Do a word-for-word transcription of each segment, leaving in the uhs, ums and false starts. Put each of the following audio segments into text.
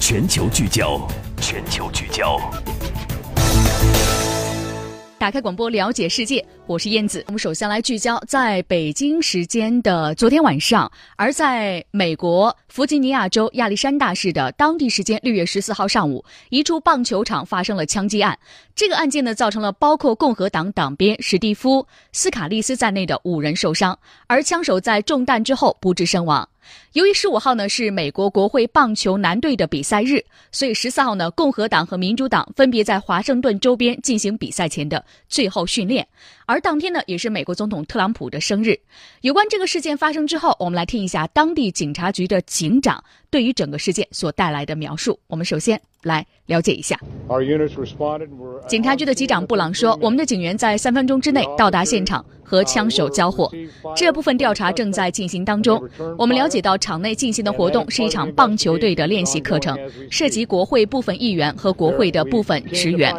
全球聚焦，全球聚焦。 打开广播，了解世界，我是燕子。我们首先来聚焦在北京时间的昨天晚上，而在美国弗吉尼亚州亚历山大市的当地时间六月十四号上午，一处棒球场发生了枪击案。这个案件呢，造成了包括共和党党鞭史蒂夫·斯卡利斯在内的五人受伤，而枪手在中弹之后不治身亡。由于十五号呢是美国国会棒球男队的比赛日，所以十四号呢，共和党和民主党分别在华盛顿州边进行比赛前的最后训练。而当天呢，也是美国总统特朗普的生日。有关这个事件发生之后，我们来听一下当地警察局的警长对于整个事件所带来的描述。我们首先来了解一下。警察局的机长布朗说，我们的警员在三分钟之内到达现场和枪手交火，这部分调查正在进行当中。我们了解到场内进行的活动是一场棒球队的练习课程，涉及国会部分议员和国会的部分职员。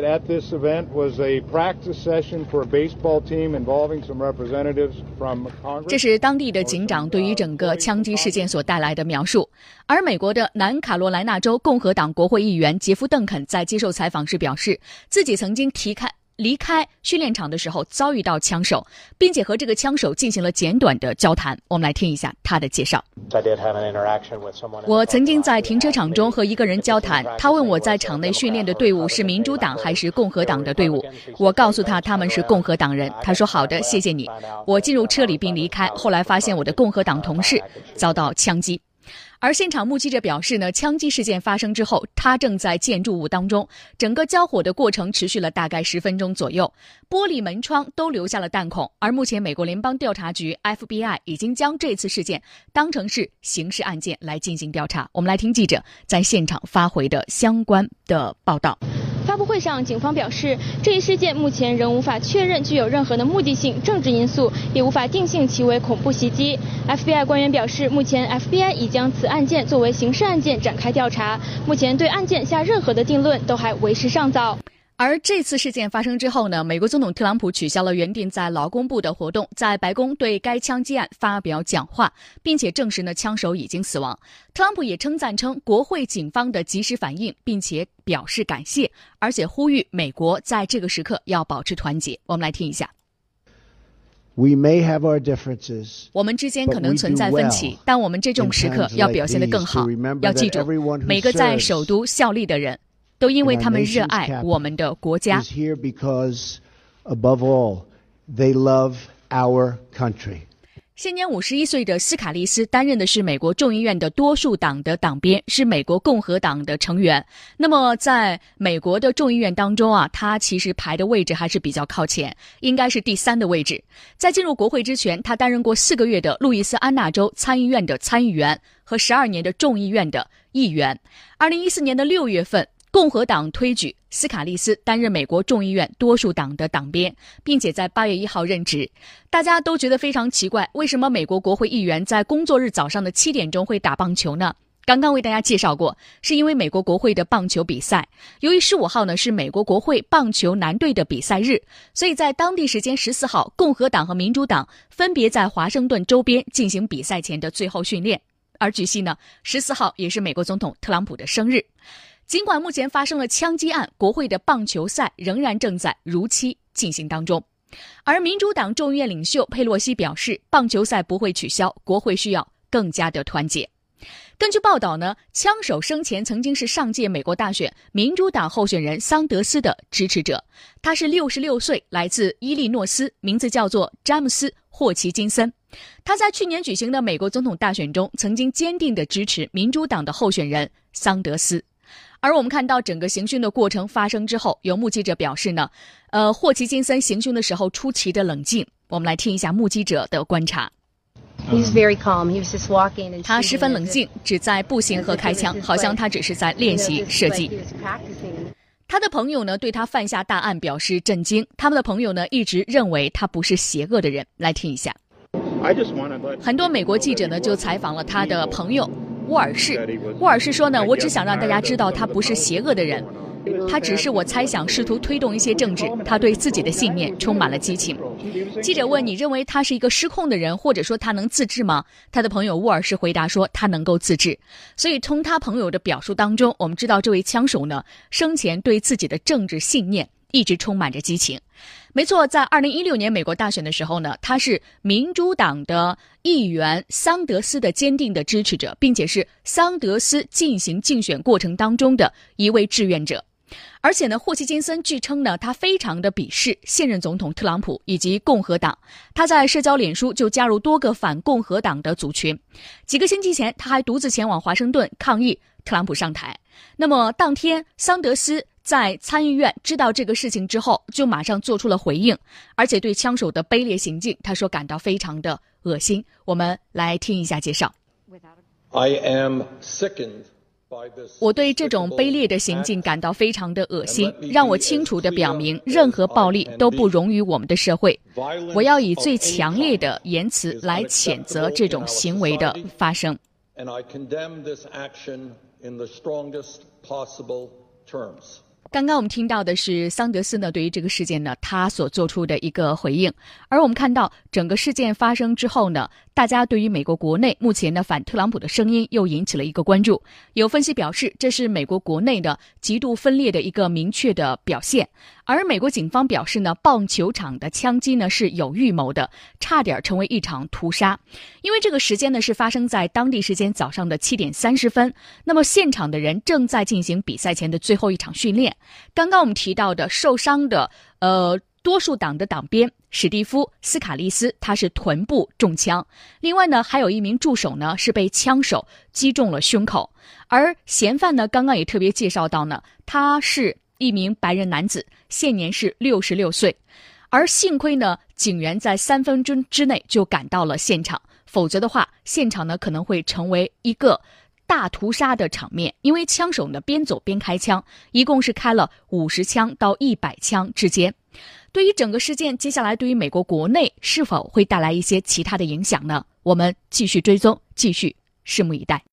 这是当地的警长对于整个枪击事件所带来的描述。而美国的南卡罗来纳州共和党国会议员杰夫·邓肯在接受采访时表示，自己曾经提开离开训练场的时候遭遇到枪手，并且和这个枪手进行了简短的交谈。我们来听一下他的介绍。我曾经在停车场中和一个人交谈，他问我在场内训练的队伍是民主党还是共和党的队伍，我告诉他他们是共和党人，他说好的，谢谢你。我进入车里并离开，后来发现我的共和党同事遭到枪击。而现场目击者表示呢，枪击事件发生之后，他正在建筑物当中，整个交火的过程持续了大概十分钟左右，玻璃门窗都留下了弹孔。而目前美国联邦调查局 F B I 已经将这次事件当成是刑事案件来进行调查。我们来听记者在现场发回的相关的报道。 发布会上，警方表示，这一事件目前仍无法确认具有任何的目的性、政治因素，也无法定性其为恐怖袭击。F B I 官员表示，目前 F B I 已将此案件作为刑事案件展开调查，目前对案件下任何的定论都还为时尚早。 而这次事件发生之后呢，美国总统特朗普取消了原定在劳工部的活动，在白宫对该枪击案发表讲话，并且证实呢枪手已经死亡。特朗普也称赞称国会警方的及时反应，并且表示感谢，而且呼吁美国在这个时刻要保持团结。我们来听一下。 We may have our differences, 我们之间可能存在分歧，但我们这种时刻要表现得更好。要记住，每个在首都效力的人都因为他们热爱我们的国家。现年五十一岁的斯卡利斯担任的是美国众议院的多数党的党鞭，是美国共和党的成员。那么在美国的众议院当中啊，他其实排的位置还是比较靠前，应该是第三的位置。在进入国会之前，他担任过四个月的路易斯安那州参议院的参议员和十二年的众议院的议员。二零一四年的六月份，共和党推举斯卡利斯担任美国众议院多数党的党鞭，并且在八月一号任职。大家都觉得非常奇怪，为什么美国国会议员在工作日早上的七点钟会打棒球呢？刚刚为大家介绍过，是因为美国国会的棒球比赛。由于十五号呢是美国国会棒球男队的比赛日，所以在当地时间十四号，共和党和民主党分别在华盛顿州边进行比赛前的最后训练。而据悉呢，十四号也是美国总统特朗普的生日。尽管目前发生了枪击案，国会的棒球赛仍然正在如期进行当中。而民主党众议院领袖佩洛西表示，棒球赛不会取消，国会需要更加的团结。根据报道呢，枪手生前曾经是上届美国大选民主党候选人桑德斯的支持者，他是六十六岁，来自伊利诺斯，名字叫做詹姆斯·霍奇金森。他在去年举行的美国总统大选中曾经坚定地支持民主党的候选人桑德斯。而我们看到整个行凶的过程发生之后，有目击者表示呢，呃，霍奇金森行凶的时候出奇的冷静。我们来听一下目击者的观察。他十分冷静，只在步行和开枪，好像他只是在练习射击。他的朋友呢对他犯下大案表示震惊，他们的朋友呢一直认为他不是邪恶的人。来听一下。很多美国记者呢就采访了他的朋友沃尔士。沃尔士说呢，我只想让大家知道他不是邪恶的人。 他只是我猜想试图推动一些政治，他对自己的信念充满了激情。记者问，你认为他是一个失控的人，或者说他能自制吗？他的朋友沃尔什回答说他能够自制。所以从他朋友的表述当中，我们知道这位枪手呢，生前对自己的政治信念一直充满着激情。没错，在二零一六年美国大选的时候呢，他是民主党的议员桑德斯的坚定的支持者，并且是桑德斯进行竞选过程当中的一位志愿者。而且呢，霍奇金森据称呢，他非常的鄙视现任总统特朗普以及共和党。他在社交脸书就加入多个反共和党的组群。几个星期前，他还独自前往华盛顿抗议特朗普上台。那么当天，桑德斯在参议院知道这个事情之后，就马上做出了回应，而且对枪手的卑劣行径，他说感到非常的恶心。我们来听一下介绍。 I am sickened. 我对这种卑劣的行径感到非常的恶心，让我清楚地表明，任何暴力都不容于我们的社会。我要以最强烈的言辞来谴责这种行为的发生。刚刚我们听到的是桑德斯呢对于这个事件呢他所做出的一个回应，而我们看到整个事件发生之后呢，大家对于美国国内目前的反特朗普的声音又引起了一个关注。有分析表示，这是美国国内的极度分裂的一个明确的表现。而美国警方表示呢，棒球场的枪击呢是有预谋的，差点成为一场屠杀。因为这个时间呢是发生在当地时间早上的七点三十分，那么现场的人正在进行比赛前的最后一场训练。刚刚我们提到的受伤的呃多数党的党鞭史蒂夫·斯卡利斯，他是臀部中枪。另外呢，还有一名助手呢是被枪手击中了胸口。而嫌犯呢，刚刚也特别介绍到呢，他是一名白人男子，现年是六十六岁。而幸亏呢，警员在三分钟之内就赶到了现场，否则的话，现场呢可能会成为一个大屠杀的场面。因为枪手呢边走边开枪，一共是开了五十枪到一百枪之间。对于整个事件，接下来对于美国国内是否会带来一些其他的影响呢？我们继续追踪，继续拭目以待。